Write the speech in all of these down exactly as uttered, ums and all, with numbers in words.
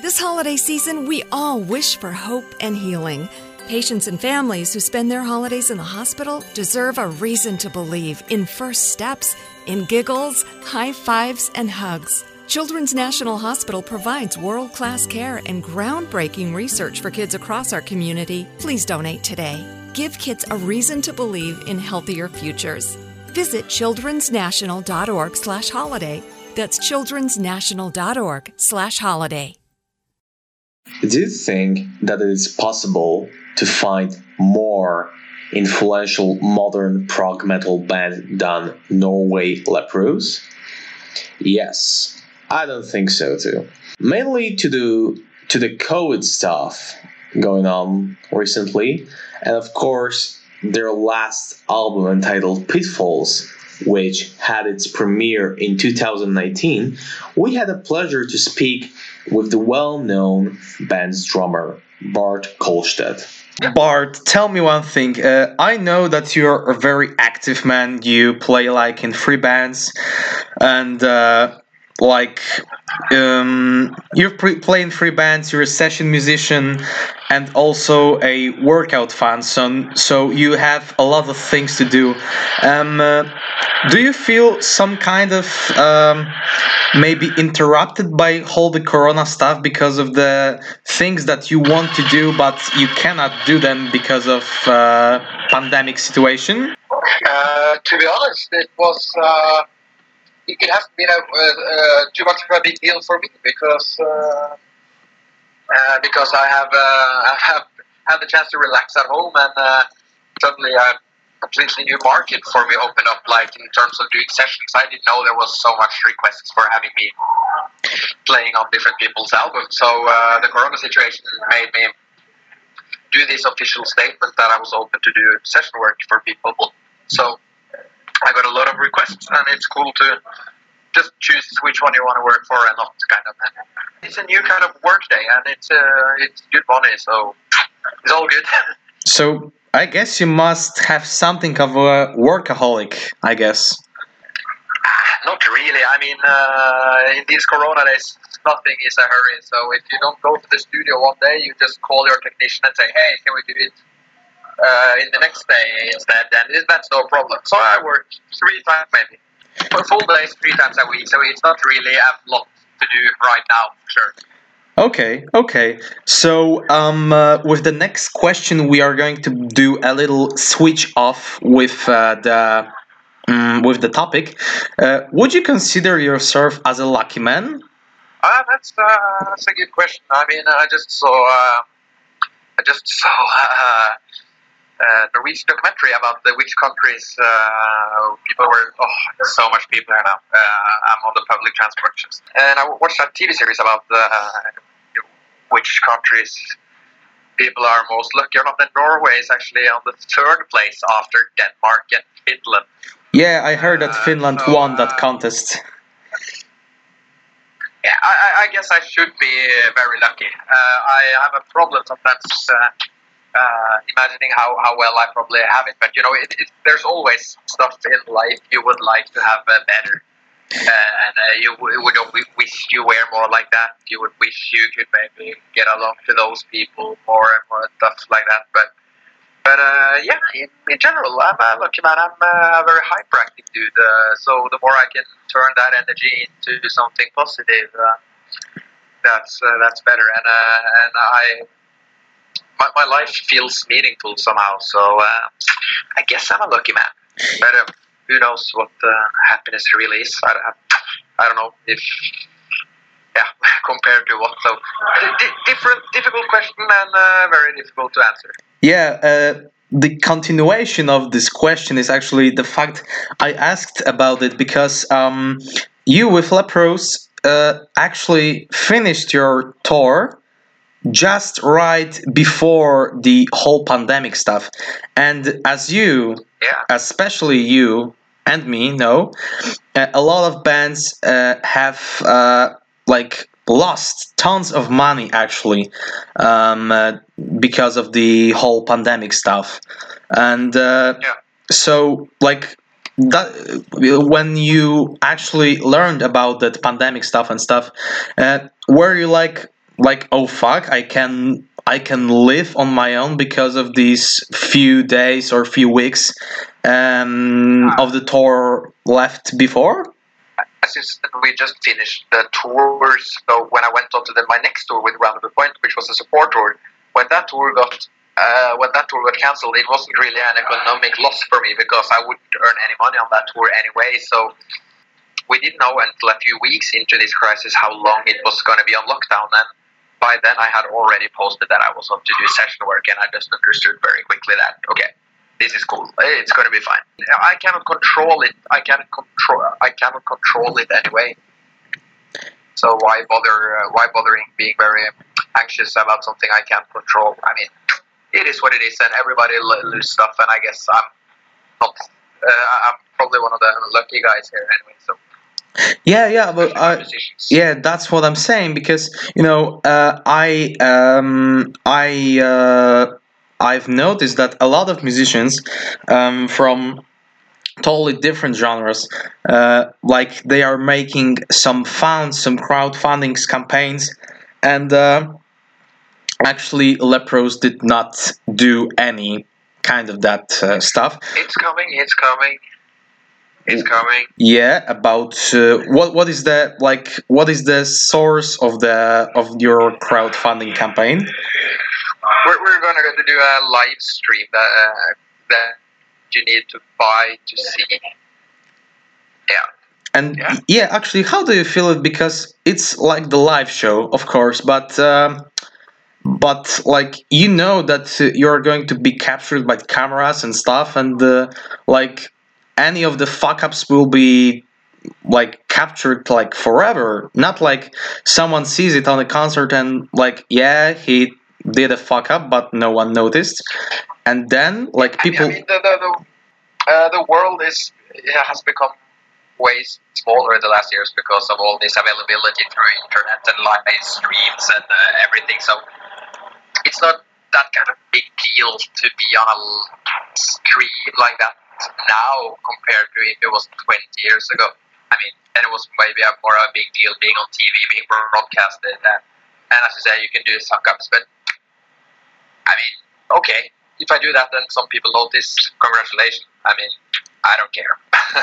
This holiday season, we all wish for hope and healing. Patients and families who spend their holidays in the hospital deserve a reason to believe in first steps, in giggles, high fives, and hugs. Children's National Hospital provides world-class care and groundbreaking research for kids across our community. Please donate today. Give kids a reason to believe in healthier futures. Visit childrensnational.org slash holiday. That's childrensnational.org slash holiday. Do you think that it is possible to find more influential modern prog metal band than Norway Leprous? Yes, I don't think so too. Mainly to the to the COVID stuff going on recently, and of course their last album entitled Pitfalls, which had its premiere in two thousand nineteen. We had the pleasure to speak with the well-known band's drummer, Bart Kolstedt. Bart, tell me one thing. Uh, I know that you're a very active man. You play like in free bands, and uh, like um, you pre- play in free bands. You're a session musician, and also a workout fan. So, so you have a lot of things to do. Um, uh, do you feel some kind of um, maybe interrupted by all the corona stuff because of the things that you want to do but you cannot do them because of uh, pandemic situation? Uh, to be honest, it was uh, it, it hasn't been a, uh, too much of a big deal for me because uh, uh, because I have uh, I have had the chance to relax at home, and uh, suddenly a completely new market for me opened up, like in terms of doing sessions. I didn't know there was so much requests for having me playing on different people's albums. So uh, the corona situation made me do this official statement that I was open to do session work for people. So I got a lot of requests, and it's cool to just choose which one you want to work for and not, kind of. It's a new kind of work day, and it's uh, it's good money, so it's all good. So I guess you must have something of a workaholic, I guess. Not really. I mean, uh, in these corona days, nothing is a hurry. So if you don't go to the studio one day, you just call your technician and say, hey, can we do it uh, in the next day instead? And that's no problem. So I work three times maybe. For full days, three times a week. So it's not really a lot to do right now, for sure. Okay, okay. So um, uh, with the next question, we are going to do a little switch off with uh, the um, with the topic. Uh, would you consider yourself as a lucky man? Uh, that's uh, that's a good question. I mean, I just saw uh, I just saw uh, a Norwegian documentary about the which countries uh, people were. Oh, there's so much people here now. Uh, I'm on the public transport, just, and I watched that T V series about the, uh, which countries people are most lucky or not. And Norway is actually on the third place after Denmark and Finland. Yeah, I heard that uh, Finland so, won that uh, contest. Yeah, I, I guess I should be very lucky. Uh, I have a problem sometimes uh, uh, imagining how, how well I probably have it. But, you know, it, it, there's always stuff in life you would like to have uh, better. Uh, and uh, you would wish you were more like that. You would wish you could maybe get along to those people more and more and stuff like that. But but uh, yeah, in, in general, I'm a lucky man. I'm a very hyperactive dude. Uh, so the more I can turn that energy into something positive, uh, that's uh, that's better. And uh, and I my, my life feels meaningful somehow. So uh, I guess I'm a lucky man. But uh, who knows what uh, happiness really is? I don't have, I don't know if, yeah, compared to what. So, di- different, difficult question and uh, very difficult to answer. Yeah, uh, the continuation of this question is actually the fact I asked about it because um, you with Leprous uh, actually finished your tour just right before the whole pandemic stuff. And as you, yeah. especially you and me know, uh, a lot of bands uh, have uh, like lost tons of money actually um, uh, because of the whole pandemic stuff. And uh, yeah. so like that, when you actually learned about that pandemic stuff and stuff, uh, were you like like, oh fuck, I can I can live on my own because of these few days or few weeks um, of the tour left before? As you said, we just finished the tours. So when I went on to the, my next tour with Round of the Point, which was a support tour, when that tour got uh, when that tour got cancelled, it wasn't really an economic loss for me because I wouldn't earn any money on that tour anyway. So we didn't know until a few weeks into this crisis how long it was going to be on lockdown. And by then, I had already posted that I was up to do session work, and I just understood very quickly that okay, this is cool. It's going to be fine. I cannot control it. I cannot control. I cannot control it anyway. So why bother? Uh, why bothering being very anxious about something I can't control? I mean, it is what it is, and everybody lose stuff. And I guess I'm not. Uh, I'm probably one of the lucky guys here anyway. So. Yeah, yeah, but I, yeah, that's what I'm saying because you know, uh, I, um, I, uh, I've noticed that a lot of musicians um, from totally different genres, uh, like they are making some funds, some crowdfunding campaigns, and uh, actually, Leprous did not do any kind of that uh, stuff. It's coming. It's coming. It's coming. Yeah, about uh, what what is the like what is the source of the of your crowdfunding campaign? We're we're gonna go to do a live stream that uh, that you need to buy to see. Yeah. And yeah. yeah, actually, how do you feel it? Because it's like the live show, of course, but um, but like you know that uh, you're going to be captured by cameras and stuff, and uh, like. Any of the fuck ups will be like captured like forever. Not like someone sees it on a concert and like yeah he did a fuck up but no one noticed, and then like people. I mean the the the, uh, the world is it has become way smaller in the last years because of all this availability through internet and live streams and uh, everything. So it's not that kind of big deal to be on a stream like that now compared to if it was twenty years ago. I mean, then it was maybe a more a big deal being on T V, being broadcasted, and, and as you say, you can do suck ups. But I mean, okay, if I do that, then some people notice. Congratulations. I mean, I don't care.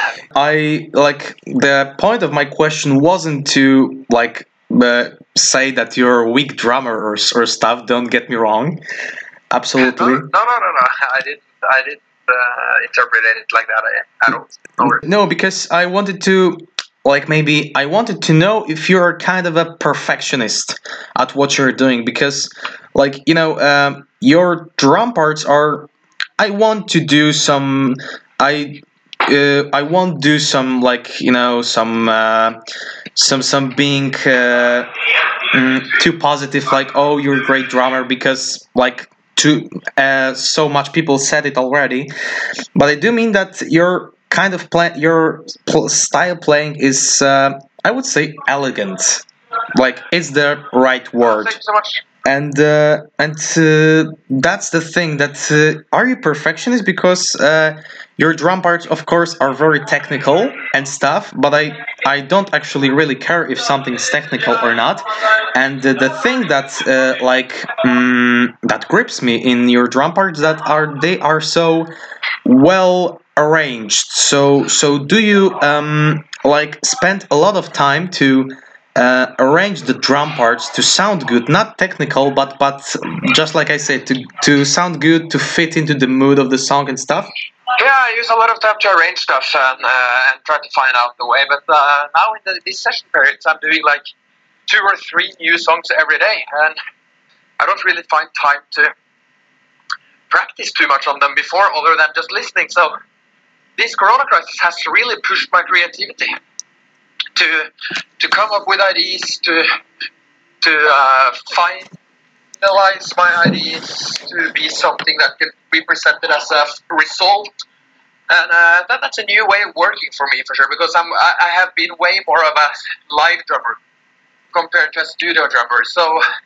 I like the point of my question wasn't to like uh, say that you're a weak drummer or or stuff. Don't get me wrong. Absolutely. No, no, no, no. no. I didn't. I didn't. Uh, interpreted it like that. I, I don't. No, because I wanted to, like, maybe I wanted to know if you're kind of a perfectionist at what you're doing. Because, like, you know, um, your drum parts are. I want to do some. I. Uh, I won't do some like you know some uh, some some being uh, mm, too positive like oh you're a great drummer because like. Too, uh, so much people said it already, but I do mean that your kind of play, your pl- style playing is, uh, I would say, elegant. Like it's the right word. Thank you so much. And uh, and uh, that's the thing. That uh, are you perfectionist? Because uh, your drum parts, of course, are very technical and stuff. But I I don't actually really care if something's technical or not. And uh, the thing that uh, like um, that grips me in your drum parts that are they are so well arranged. So so do you um, like spend a lot of time to Uh, arrange the drum parts to sound good, not technical, but but just like I said, to to sound good, to fit into the mood of the song and stuff? Yeah, I use a lot of time to arrange stuff and uh, and try to find out the way. But uh, now in the, these session periods, I'm doing like two or three new songs every day, and I don't really find time to practice too much on them before, other than just listening. So this Corona crisis has really pushed my creativity. To to come up with ideas, to to uh, finalize my ideas to be something that can be presented as a result, and uh, that, that's a new way of working for me for sure. Because I'm I, I have been way more of a live drummer compared to a studio drummer. So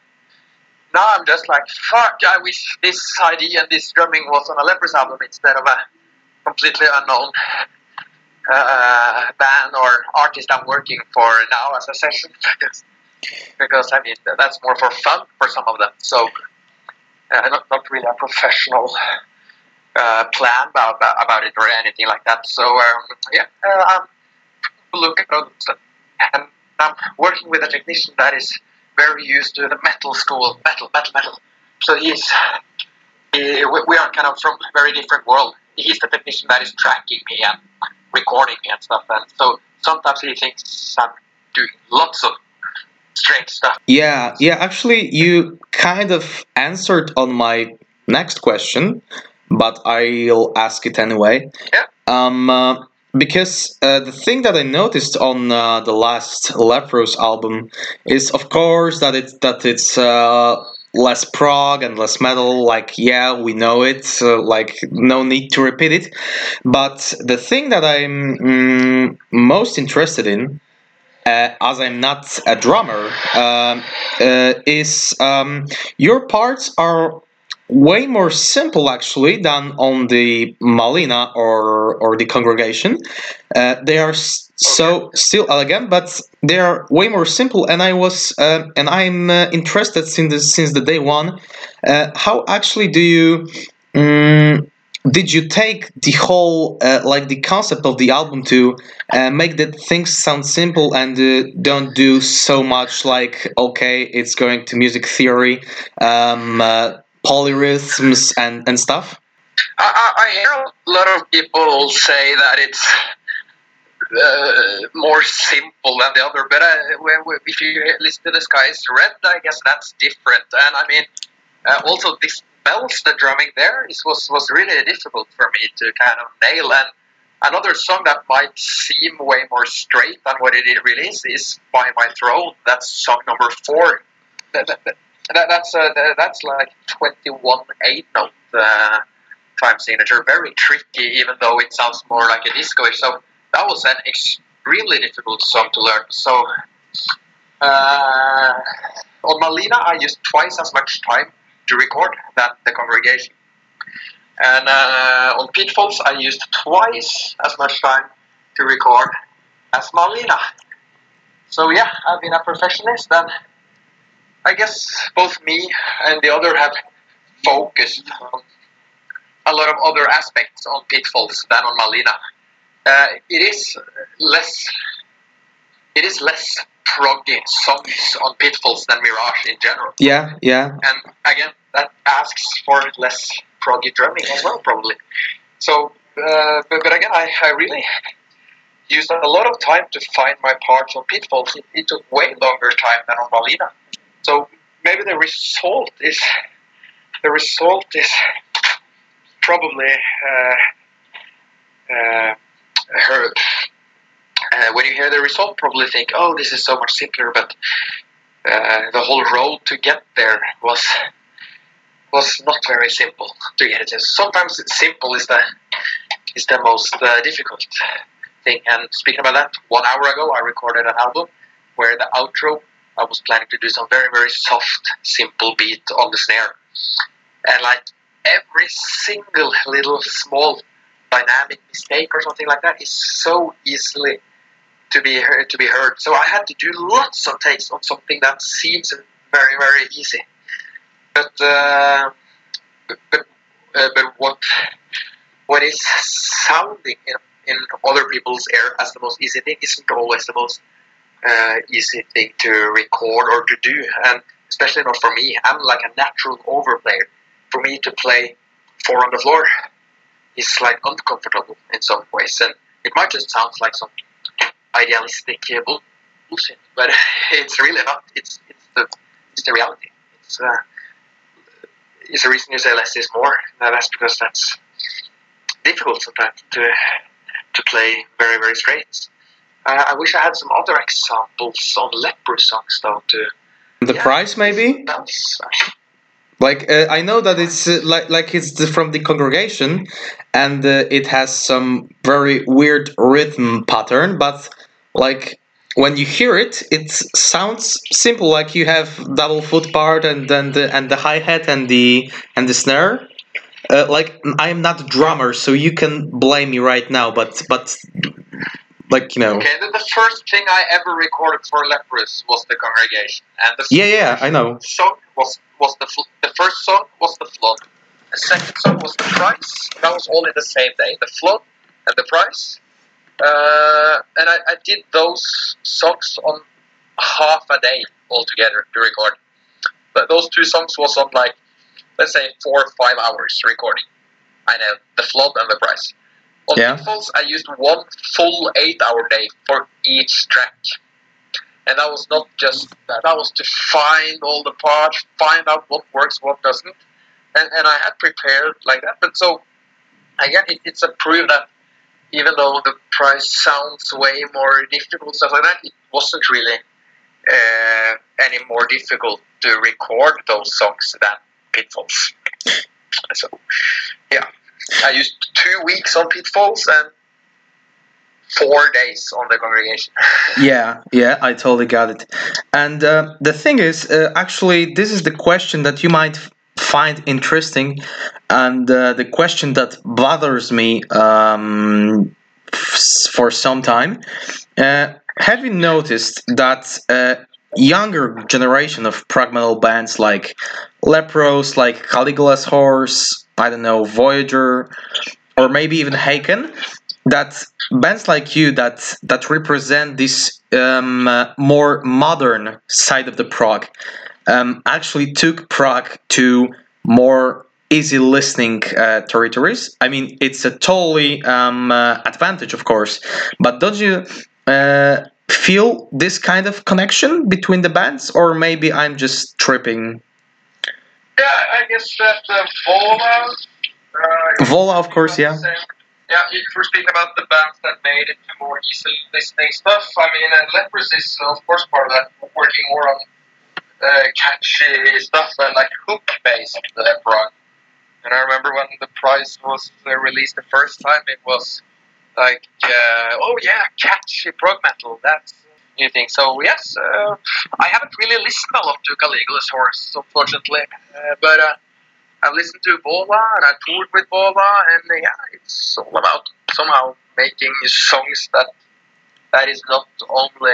now I'm just like fuck. I wish this idea and this drumming was on a Leprous album instead of a completely unknown. Uh, band or artist I'm working for now as a session because I mean that's more for fun for some of them. So uh, not not really a professional uh, plan about about it or anything like that. So um, yeah, uh, I'm looking at other stuff, and I'm working with a technician that is very used to the metal school, metal, metal, metal. So he's he, we are kind of from a very different world. He's the technician that is tracking me and recording me and stuff, and so sometimes he thinks I'm doing lots of strange stuff. Yeah, yeah, actually, you kind of answered on my next question, but I'll ask it anyway. Yeah. Um, uh, because uh, the thing that I noticed on uh, the last Leprous album is, of course, that it's that it's uh, less prog and less metal. Like, yeah, we know it. So, like, no need to repeat it. But the thing that I'm mm, most interested in, uh, as I'm not a drummer, uh, uh, is um, your parts are way more simple actually than on the Malina or or the Congregation. Uh, they are s- so still elegant, but they are way more simple. And I was uh, and I'm uh, interested since the, since the day one. Uh, how actually do you? Um, did you take the whole uh, like the concept of the album to uh, make the things sound simple and uh, don't do so much like, okay, it's going to music theory, um, uh, polyrhythms and, and stuff? I, I, I hear a lot of people say that it's uh, more simple than the other, but uh, when, when, if you listen to The Sky is Red, I guess that's different. And I mean, uh, also this bells, the drumming there is, was, was really difficult for me to kind of nail. And another song that might seem way more straight than what it really is is By My Throne. That's song number four. That, that, that, that's uh, that's like twenty-one eight note uh, time signature. Very tricky, even though it sounds more like a disco-ish. So that was an extremely difficult song to learn. So uh, on Malina, I used twice as much time to record than the Congregation. And uh, on Pitfalls, I used twice as much time to record as Malina. So yeah, I've been a perfectionist, and I guess both me and the other have focused on a lot of other aspects on Pitfalls than on Malina. Uh, it is less, it is less proggy songs on Pitfalls than Mirage in general. Yeah, yeah. And again, that asks for less proggy drumming as well, probably. So, uh, but, but again, I, I really used a lot of time to find my parts on Pitfalls. It, it took way longer time than on Malina. So maybe the result is the result is probably uh, uh, her. Uh, when you hear the result, probably think, "Oh, this is so much simpler." But uh, the whole road to get there was was not very simple to get it. Sometimes it's simple is the is the most uh, difficult thing. And speaking about that, one hour ago I recorded an album where the outro I was planning to do some very very soft, simple beat on the snare, and like every single little small dynamic mistake or something like that is so easily to be heard, to be heard. So I had to do lots of takes on something that seems very very easy. But uh, but uh, but what what is sounding in, in other people's ear as the most easy thing isn't always the most uh, easy thing to record or to do, and especially not for me. I'm like a natural overplayer. For me to play four on the floor is like uncomfortable in some ways, and it might just sound like some idealistic bullshit, but it's really not. It's it's the it's the reality. It's uh, it's the reason you say less is more. Now that's because that's difficult sometimes to to play very very straight. Uh, I wish I had some other examples on Leprous songs though. To the yeah, price maybe. That's, Like uh, I know that it's uh, like like it's the, from the Congregation, and uh, it has some very weird rhythm pattern. But like when you hear it, it sounds simple. Like you have double foot part and then the and the hi hat and the and the snare. Uh, like I am not a drummer, so you can blame me right now. But but like you know. Okay, the, the first thing I ever recorded for Leprous was The Congregation, and the Yeah, yeah, I know. song was was the fl- the first song was The Flood. The second song was The Price. That was all in the same day. The Flood and The Price. Uh, and I, I did those songs on half a day altogether to record. But those two songs was on like, let's say, four or five hours recording. I know, The Flood and The Price. On Yeah. Pitfalls, I used one full eight-hour day for each track. And that was not just that. That was to find all the parts, find out what works, what doesn't. And, and I had prepared like that. But so, again, it, it's a proof that even though The Price sounds way more difficult, stuff like that, it wasn't really uh, any more difficult to record those songs than Pitfalls. So, yeah. I used two weeks on Pitfalls and four days on The Congregation. Yeah, yeah, I totally got it. And uh, the thing is, uh, actually, this is the question that you might f- find interesting, and uh, the question that bothers me um, f- for some time. Uh, have you noticed that uh, younger generation of prog metal bands like Leprous, like Caligula's Horse, I don't know, Voyager, or maybe even Haken, that bands like you that that represent this um, uh, more modern side of the prog um, actually took prog to more easy listening uh, territories. I mean, it's a totally um, uh, advantage, of course, but don't you uh, feel this kind of connection between the bands, or maybe I'm just tripping? Yeah, I guess that uh, Vola... Uh, Vola, of course, yeah. Yeah, if we're speaking about the bands that made it to more easy listening stuff, I mean, uh, Leprous is, of course, part of that, working more on uh, catchy stuff and like hook-based uh, prog. And I remember when The Price was uh, released the first time, it was like, uh, oh yeah, catchy prog metal, that's a new thing. So yes, uh, I haven't really listened a lot to Caligula's Horse, unfortunately, uh, but uh, I've listened to Vola and I toured with Vola, and uh, yeah, it's all about somehow making songs that that is not only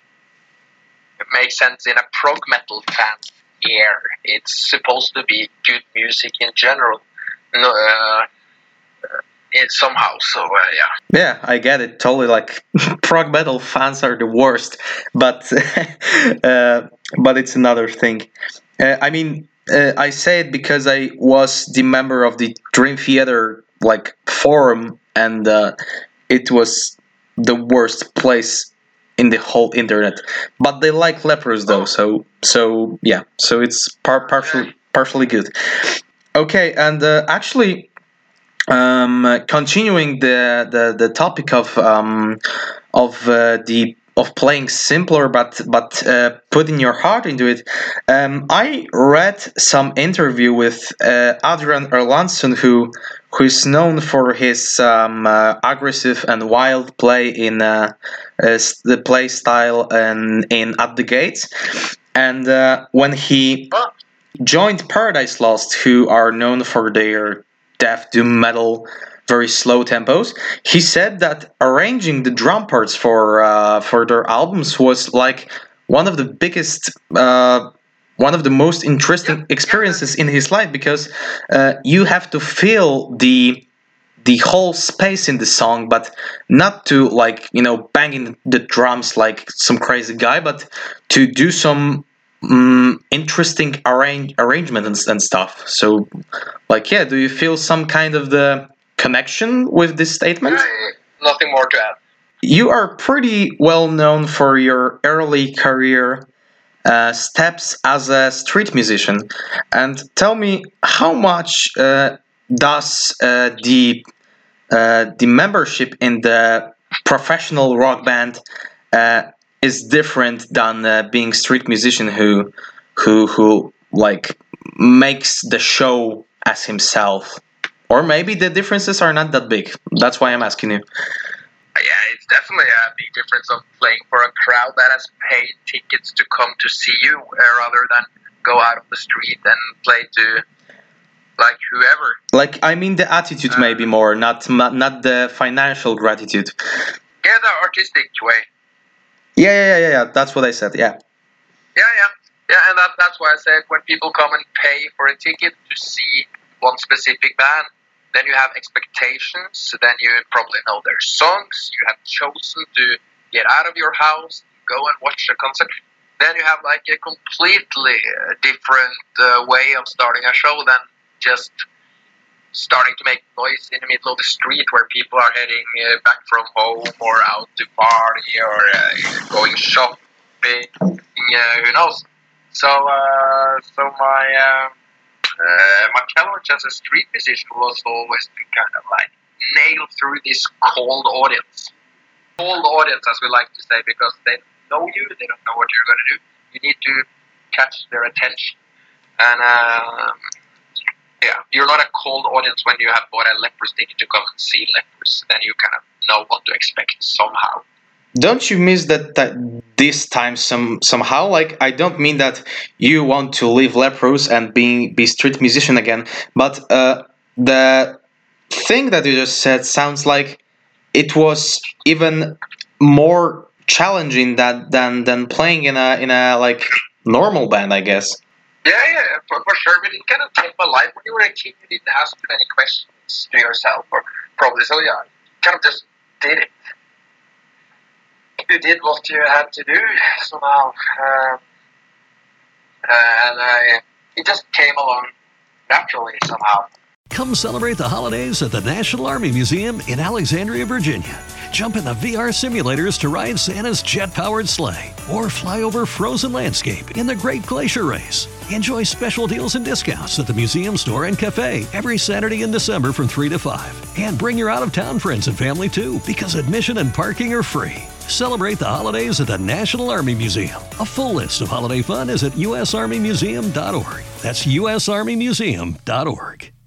make sense in a prog metal fan's ear. It's supposed to be good music in general. No, uh, it somehow. So uh, yeah. Yeah, I get it totally. Like prog metal fans are the worst, but uh, but it's another thing. Uh, I mean, uh, I say it because I was the member of the Dream Theater like forum, and uh, it was the worst place in the whole internet. But they like Leprous though, so so yeah, so it's par- partially partially good. Okay, and uh, actually, um, continuing the, the, the topic of um, of uh, the of playing simpler, but but uh, putting your heart into it. Um, I read some interview with uh, Adrian Erlandsson, who who is known for his um, uh, aggressive and wild play in uh, uh, the play style and in At the Gates, and uh, when he joined Paradise Lost, who are known for their death doom metal, very slow tempos, he said that arranging the drum parts for uh, for their albums was like one of the biggest, uh, one of the most interesting experiences in his life, because uh, you have to feel the the whole space in the song, but not to like you know banging the drums like some crazy guy, but to do some um, interesting arrange arrangement and, and stuff. So, like, yeah, do you feel some kind of the connection with this statement? Uh, nothing more to add. You are pretty well known for your early career uh, steps as a street musician, and tell me how much uh, does uh, the uh, the membership in the professional rock band uh, is different than uh, being street musician who who who like makes the show as himself, or maybe the differences are not that big. That's why I'm asking you. Yeah, it's definitely a big difference of playing for a crowd that has paid tickets to come to see you, uh, rather than go out on the street and play to like whoever. Like, I mean the attitude maybe more, not not the financial gratitude. Yeah, the artistic way. Yeah, yeah, yeah, yeah. That's what I said. Yeah. Yeah, yeah, yeah, and that, that's why I said when people come and pay for a ticket to see one specific band, then you have expectations. Then you probably know their songs. You have chosen to get out of your house, go and watch the concert. Then you have like a completely different uh, way of starting a show than just starting to make noise in the middle of the street where people are heading uh, back from home or out to party or uh, going shopping. Uh, who knows? So, uh, so my uh, uh, my challenge as a street musician was always to kind of like nail through this cold audience, cold audience, as we like to say, because they don't know you, they don't know what you're going to do. You need to catch their attention, and um, yeah, you're not a cold audience when you have bought a Leprous ticket to come and see Leprous. Then you kind of know what to expect somehow. Don't you miss that, that this time some somehow? Like, I don't mean that you want to leave Leprous and being be street musician again, but uh, the thing that you just said sounds like it was even more challenging that than than playing in a in a like normal band, I guess. Yeah, yeah, for, for sure. But it kind of changed my life. When you were a kid, you didn't ask too many questions to yourself, or probably so. Yeah, kind of just did it. You did what you had to do somehow, um, and I, it just came along naturally somehow. Come celebrate the holidays at the National Army Museum in Alexandria, Virginia. Jump in the V R simulators to ride Santa's jet-powered sleigh or fly over frozen landscape in the Great Glacier Race. Enjoy special deals and discounts at the museum store and cafe every Saturday in December from three to five. And bring your out-of-town friends and family too, because admission and parking are free. Celebrate the holidays at the National Army Museum. A full list of holiday fun is at U S Army Museum dot org. That's U S Army Museum dot org.